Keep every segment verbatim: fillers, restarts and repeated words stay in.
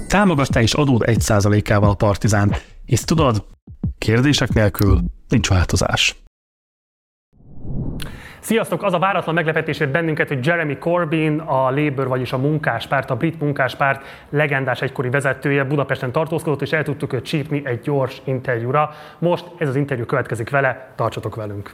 Támogass te is adód egy százalékával a Partizánt, és tudod, kérdések nélkül nincs változás. Sziasztok! Az a váratlan meglepetés ért bennünket, hogy Jeremy Corbyn, a Labour, vagyis a munkáspárt, a brit munkáspárt legendás egykori vezetője Budapesten tartózkodott, és el tudtuk őt csípni egy gyors interjúra. Most ez az interjú következik vele, tartsatok velünk!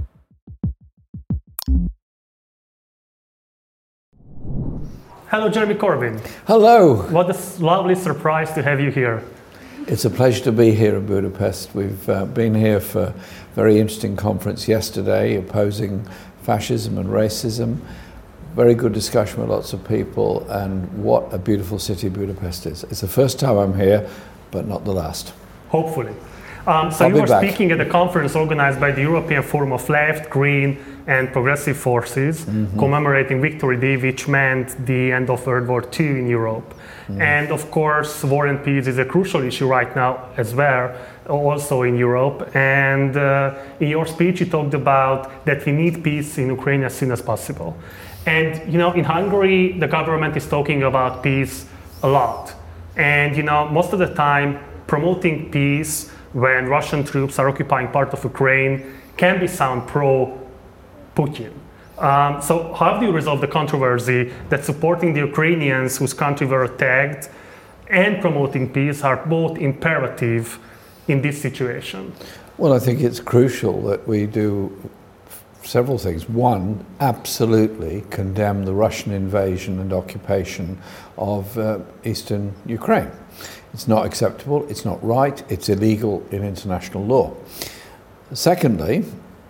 Hello, Jeremy Corbyn. Hello. What a lovely surprise to have you here. It's a pleasure to be here in Budapest. We've uh, been here for a very interesting conference yesterday opposing fascism and racism. Very good discussion with lots of people, and what a beautiful city Budapest is. It's the first time I'm here, but not the last. Hopefully. Um, so I'll you were back. speaking at a conference organized by the European Forum of Left, Green and Progressive Forces, mm-hmm. commemorating Victory Day, which meant the end of World War Two in Europe. Mm. And of course, war and peace is a crucial issue right now as well, also in Europe. And uh, in your speech, you talked about that we need peace in Ukraine as soon as possible. And you know, in Hungary, the government is talking about peace a lot. And you know, most of the time, promoting peace when Russian troops are occupying part of Ukraine can be sound pro-Putin. Um, so how do you resolve the controversy that supporting the Ukrainians whose country were attacked and promoting peace are both imperative in this situation? Well, I think it's crucial that we do several things. One, absolutely condemn the Russian invasion and occupation of uh, eastern Ukraine. It's not acceptable, it's not right, it's illegal in international law. Secondly,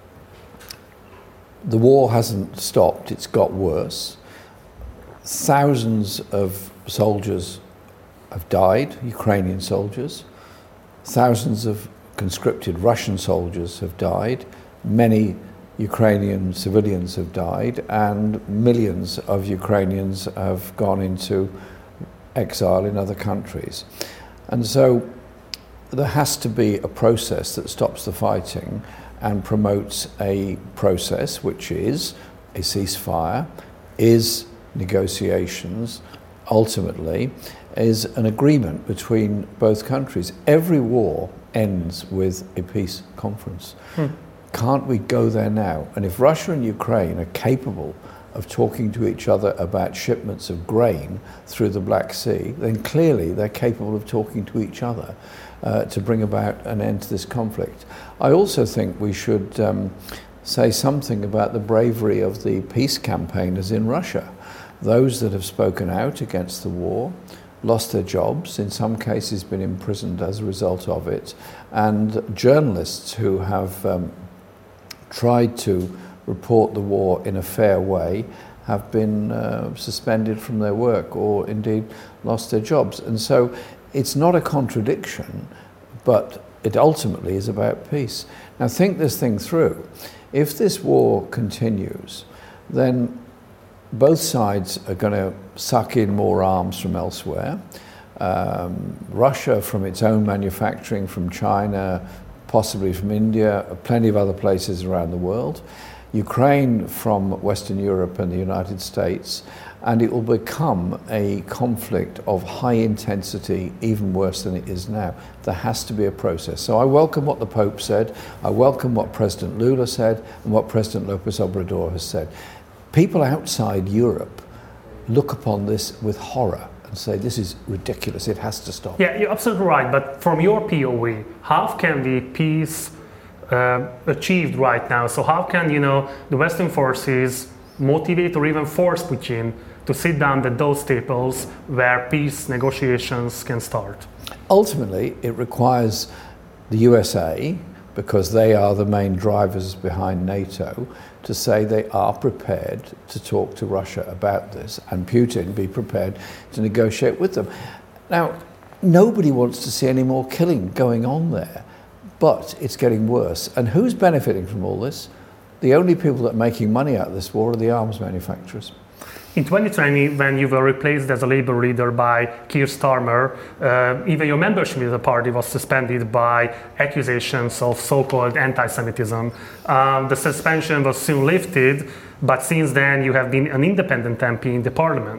the war hasn't stopped, it's got worse. Thousands of soldiers have died, Ukrainian soldiers. Thousands of conscripted Russian soldiers have died. Many Ukrainian civilians have died, and millions of Ukrainians have gone into exile in other countries. And so there has to be a process that stops the fighting and promotes a process which is a ceasefire, is negotiations, ultimately is an agreement between both countries. Every war ends with a peace conference. Hmm. Can't we go there now? And if Russia and Ukraine are capable of talking to each other about shipments of grain through the Black Sea, then clearly they're capable of talking to each other uh, to bring about an end to this conflict. I also think we should um, say something about the bravery of the peace campaigners in Russia. Those that have spoken out against the war, lost their jobs, in some cases been imprisoned as a result of it, and journalists who have um, tried to report the war in a fair way have been uh, suspended from their work or indeed lost their jobs. And so it's not a contradiction, but it ultimately is about peace. Now think this thing through. If this war continues, then both sides are going to suck in more arms from elsewhere. Um, Russia from its own manufacturing, from China, possibly from India, plenty of other places around the world. Ukraine from Western Europe and the United States, and it will become a conflict of high intensity, even worse than it is now. There has to be a process. So I welcome what the Pope said, I welcome what President Lula said, and what President López Obrador has said. People outside Europe look upon this with horror and say, this is ridiculous, it has to stop. Yeah, you're absolutely right, but from your P O V, how can the peace Uh, achieved right now? So how can, you know, the Western forces motivate or even force Putin to sit down at those tables where peace negotiations can start? Ultimately, it requires the U S A, because they are the main drivers behind NATO, to say they are prepared to talk to Russia about this, and Putin be prepared to negotiate with them. Now, nobody wants to see any more killing going on there. But it's getting worse. And who's benefiting from all this? The only people that are making money out of this war are the arms manufacturers. In twenty twenty, when you were replaced as a Labour leader by Keir Starmer, uh, even your membership of the party was suspended by accusations of so-called anti-Semitism. Um, the suspension was soon lifted, but since then you have been an independent M P in the parliament.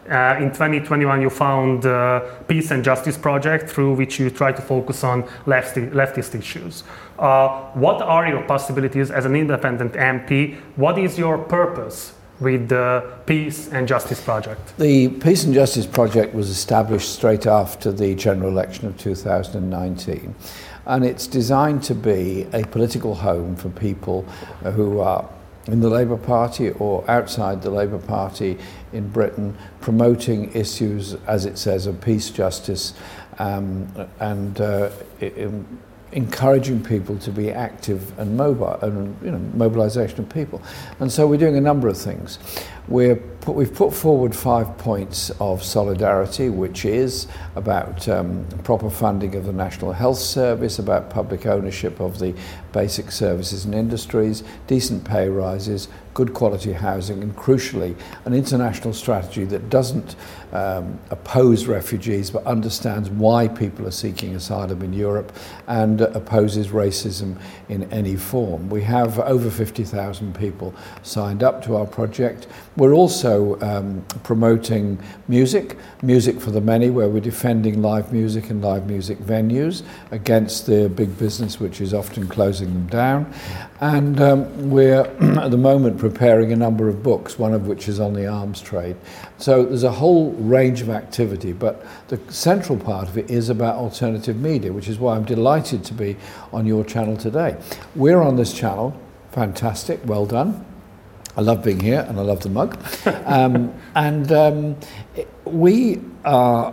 Uh, in twenty twenty-one, you found uh, Peace and Justice Project, through which you try to focus on lefty, leftist issues. Uh, what are your possibilities as an independent M P? What is your purpose with the Peace and Justice Project? The Peace and Justice Project was established straight after the general election of two thousand nineteen, and it's designed to be a political home for people who are in the Labour Party or outside the Labour Party in Britain, promoting issues, as it says, of peace, justice, um, and uh, in, encouraging people to be active and mobile, and you know, mobilisation of people. And so we're doing a number of things. We're put, we've put forward five points of solidarity, which is about um, proper funding of the National Health Service, about public ownership of the basic services and industries, decent pay rises, good quality housing, and crucially, an international strategy that doesn't um, oppose refugees but understands why people are seeking asylum in Europe and uh, opposes racism in any form. We have over fifty thousand people signed up to our project. We're also um, promoting music, music for the many, where we're defending live music and live music venues against the big business which is often closing them down. And um, we're at the moment preparing a number of books, one of which is on the arms trade. So there's a whole range of activity, but the central part of it is about alternative media, which is why I'm delighted to be on your channel today. We're on this channel, fantastic, well done. I love being here and I love the mug. um, and um, we are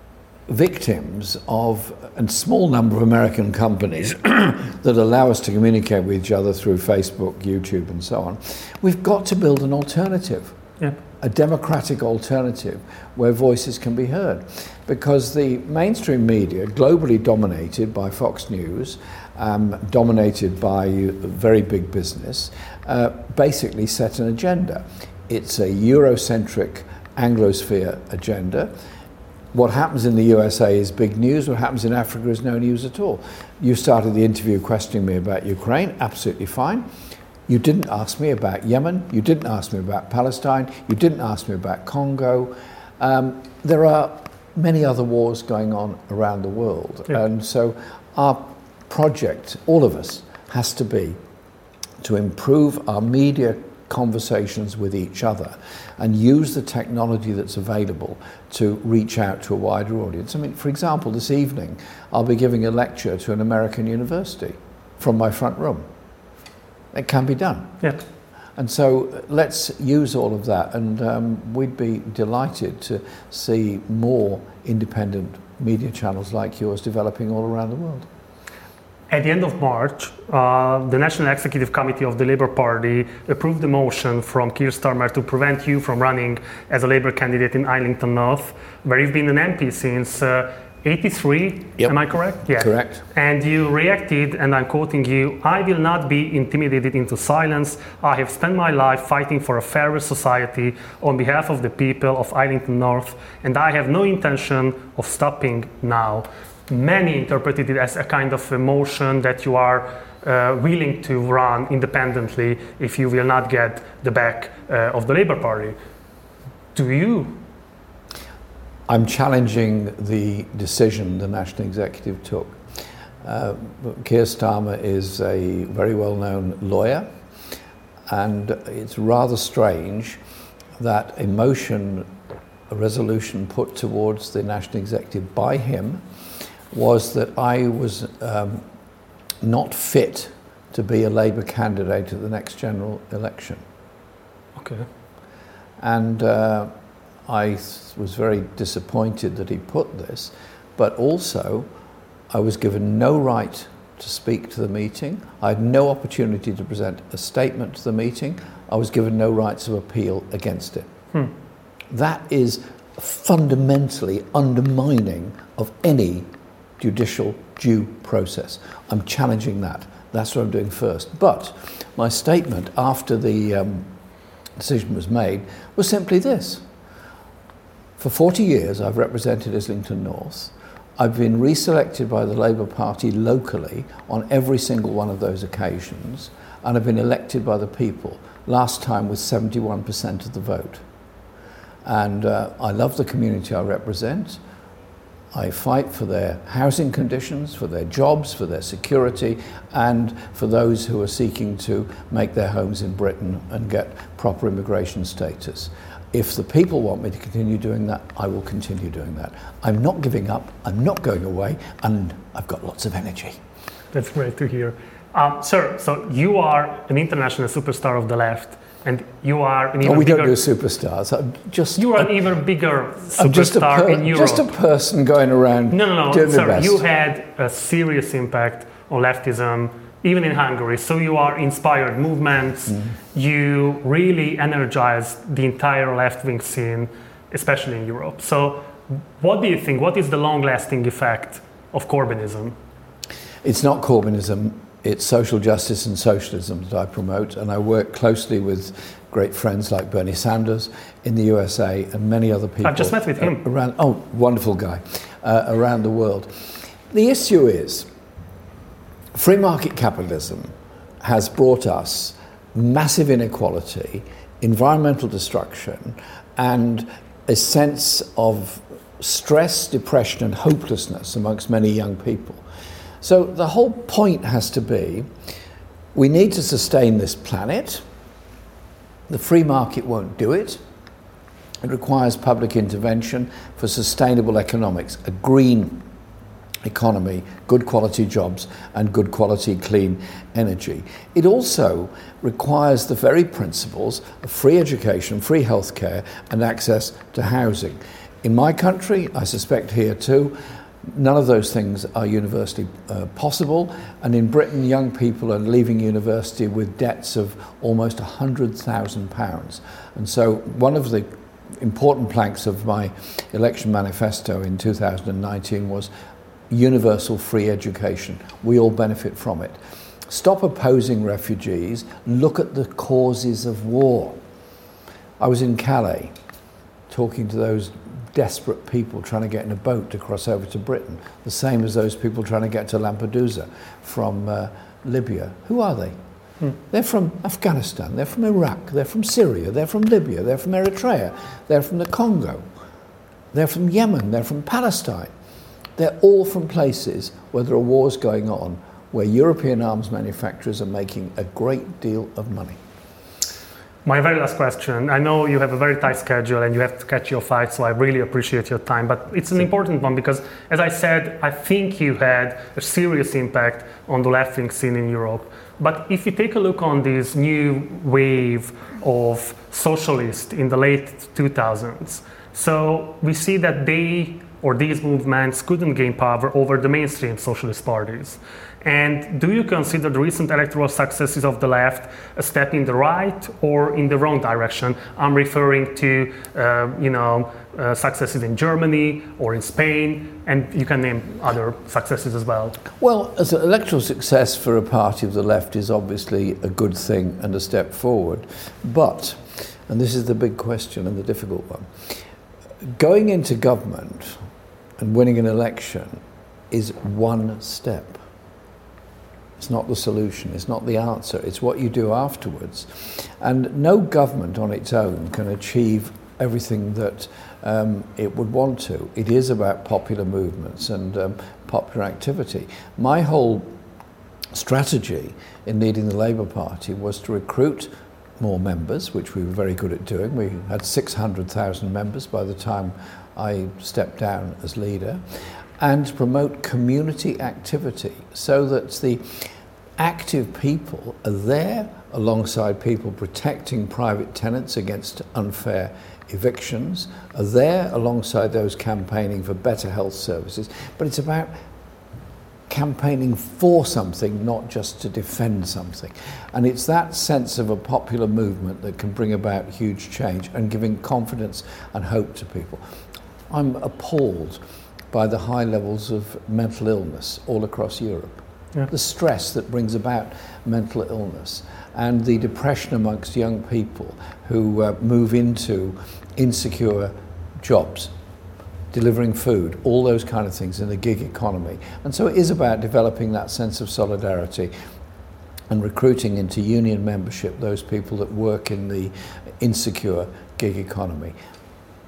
victims of a small number of American companies that allow us to communicate with each other through Facebook, YouTube and so on. We've got to build an alternative, yep. a democratic alternative where voices can be heard. Because the mainstream media, globally dominated by Fox News, um, dominated by very big business, uh, basically set an agenda. It's a Eurocentric Anglosphere agenda. What happens in the U S A is big news. What happens in Africa is no news at all. You started the interview questioning me about Ukraine, absolutely fine. You didn't ask me about Yemen. You didn't ask me about Palestine. You didn't ask me about Congo. Um, there are many other wars going on around the world. Yeah. And so our project, all of us, has to be to improve our media conversations with each other and use the technology that's available to reach out to a wider audience. I mean, for example, this evening I'll be giving a lecture to an American university from my front room. It can be done. Yeah. And so let's use all of that, and um, we'd be delighted to see more independent media channels like yours developing all around the world. At the end of March, uh, the National Executive Committee of the Labour Party approved the motion from Keir Starmer to prevent you from running as a Labour candidate in Islington North, where you've been an M P since uh, eighty-three, yep. Am I correct? Yeah. Correct. And you reacted, and I'm quoting you, "I will not be intimidated into silence. I have spent my life fighting for a fairer society on behalf of the people of Islington North, and I have no intention of stopping now." Many interpreted it as a kind of emotion that you are uh, willing to run independently if you will not get the back uh, of the Labour Party. Do you? I'm challenging the decision the National Executive took. Uh, Keir Starmer is a very well-known lawyer, and it's rather strange that a motion, a resolution put towards the National Executive by him was that I was um, not fit to be a Labour candidate at the next general election. Okay. And uh, I was very disappointed that he put this, but also I was given no right to speak to the meeting. I had no opportunity to present a statement to the meeting. I was given no rights of appeal against it. Hmm. That is fundamentally undermining of any judicial due process. I'm challenging that. That's what I'm doing first. But my statement after the um, decision was made was simply this. For forty years I've represented Islington North. I've been reselected by the Labour Party locally on every single one of those occasions, and I've been elected by the people, last time with seventy-one percent of the vote. And uh, I love the community I represent. I fight for their housing conditions, for their jobs, for their security, and for those who are seeking to make their homes in Britain and get proper immigration status. If the people want me to continue doing that, I will continue doing that. I'm not giving up, I'm not going away, and I've got lots of energy. That's great to hear. Um, sir, so you are an international superstar of the left, and you are an even oh, we bigger... don't do superstars. I'm just, you are I'm, an even bigger I'm just a superstar per, in Europe. Just a person going around no, no, no, doing sir, the best. You had a serious impact on leftism, even in Hungary. So you are inspired movements. Mm. You really energized the entire left-wing scene, especially in Europe. So what do you think? What is the long-lasting effect of Corbynism? It's not Corbynism. It's social justice and socialism that I promote, and I work closely with great friends like Bernie Sanders in the U S A and many other people. I've just met with him. Around, oh, wonderful guy, uh, around the world. The issue is, free market capitalism has brought us massive inequality, environmental destruction, and a sense of stress, depression, and hopelessness amongst many young people. So the whole point has to be, we need to sustain this planet. The free market won't do it. It requires public intervention for sustainable economics, a green economy, good quality jobs, and good quality clean energy. It also requires the very principles of free education, free healthcare, and access to housing. In my country, I suspect here too, none of those things are universally uh, possible, and in Britain young people are leaving university with debts of almost one hundred thousand pounds. And so one of the important planks of my election manifesto in two thousand nineteen was universal free education. We all benefit from it. Stop opposing refugees, look at the causes of war. I was in Calais talking to those desperate people trying to get in a boat to cross over to Britain, the same as those people trying to get to Lampedusa from uh, Libya. Who are they? Hmm. They're from Afghanistan, they're from Iraq, they're from Syria, they're from Libya, they're from Eritrea, they're from the Congo, they're from Yemen, they're from Palestine. They're all from places where there are wars going on, where European arms manufacturers are making a great deal of money. My very last question. I know you have a very tight schedule and you have to catch your flight, so I really appreciate your time. But it's an important one because, as I said, I think you had a serious impact on the left-wing scene in Europe. But if you take a look on this new wave of socialists in the late two thousands, so we see that they or these movements couldn't gain power over the mainstream socialist parties. And do you consider the recent electoral successes of the left a step in the right or in the wrong direction? I'm referring to, uh, you know, uh, successes in Germany or in Spain, and you can name other successes as well. Well, as an electoral success for a party of the left is obviously a good thing and a step forward. But, and this is the big question and the difficult one, going into government and winning an election is one step. It's not the solution, it's not the answer, it's what you do afterwards. And no government on its own can achieve everything that um, it would want to. It is about popular movements and um, popular activity. My whole strategy in leading the Labour Party was to recruit more members, which we were very good at doing. We had six hundred thousand members by the time I stepped down as leader, and promote community activity so that the active people are there alongside people protecting private tenants against unfair evictions, are there alongside those campaigning for better health services, but it's about campaigning for something, not just to defend something. And it's that sense of a popular movement that can bring about huge change and giving confidence and hope to people. I'm appalled by the high levels of mental illness all across Europe. Yeah. The stress that brings about mental illness and the depression amongst young people who uh, move into insecure jobs, delivering food, all those kind of things in the gig economy. And so it is about developing that sense of solidarity and recruiting into union membership those people that work in the insecure gig economy.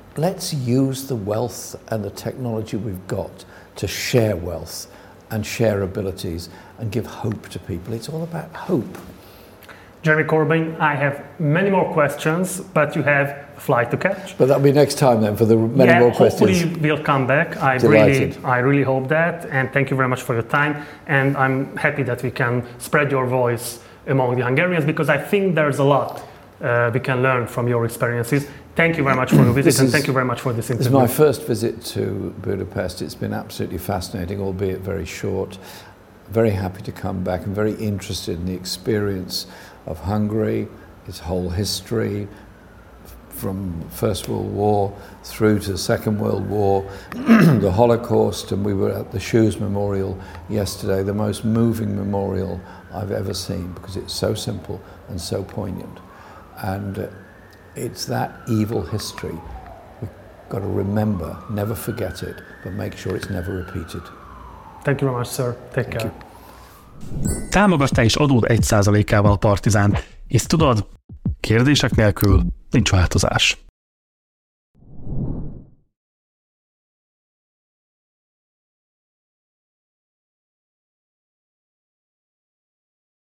let's use the wealth and the technology we've got to share wealth and share abilities and give hope to people. It's all about hope. Jeremy Corbyn, I have many more questions, but you have a flight to catch. But that'll be next time then for the many yeah, more questions. Hopefully we'll come back. I Delighted. really, I really hope that. And thank you very much for your time. And I'm happy that we can spread your voice among the Hungarians, because I think there's a lot uh, we can learn from your experiences. Thank you very much for your visit, This and is- thank you very much for this This is interview. my first visit to Budapest. It's been absolutely fascinating, albeit very short. Very happy to come back. I'm very interested in the experience of Hungary, its whole history, from First World War through to the Second World War, the Holocaust, and we were at the Shoes Memorial yesterday, the most moving memorial I've ever seen, because it's so simple and so poignant. And uh, it's that evil history. We've got to remember, never forget it, but make sure it's never repeated. Thank you very much, sir. Take Thank care. you. Támogass te is adód egy százalékával a Partizánt, és tudod, kérdések nélkül nincs változás.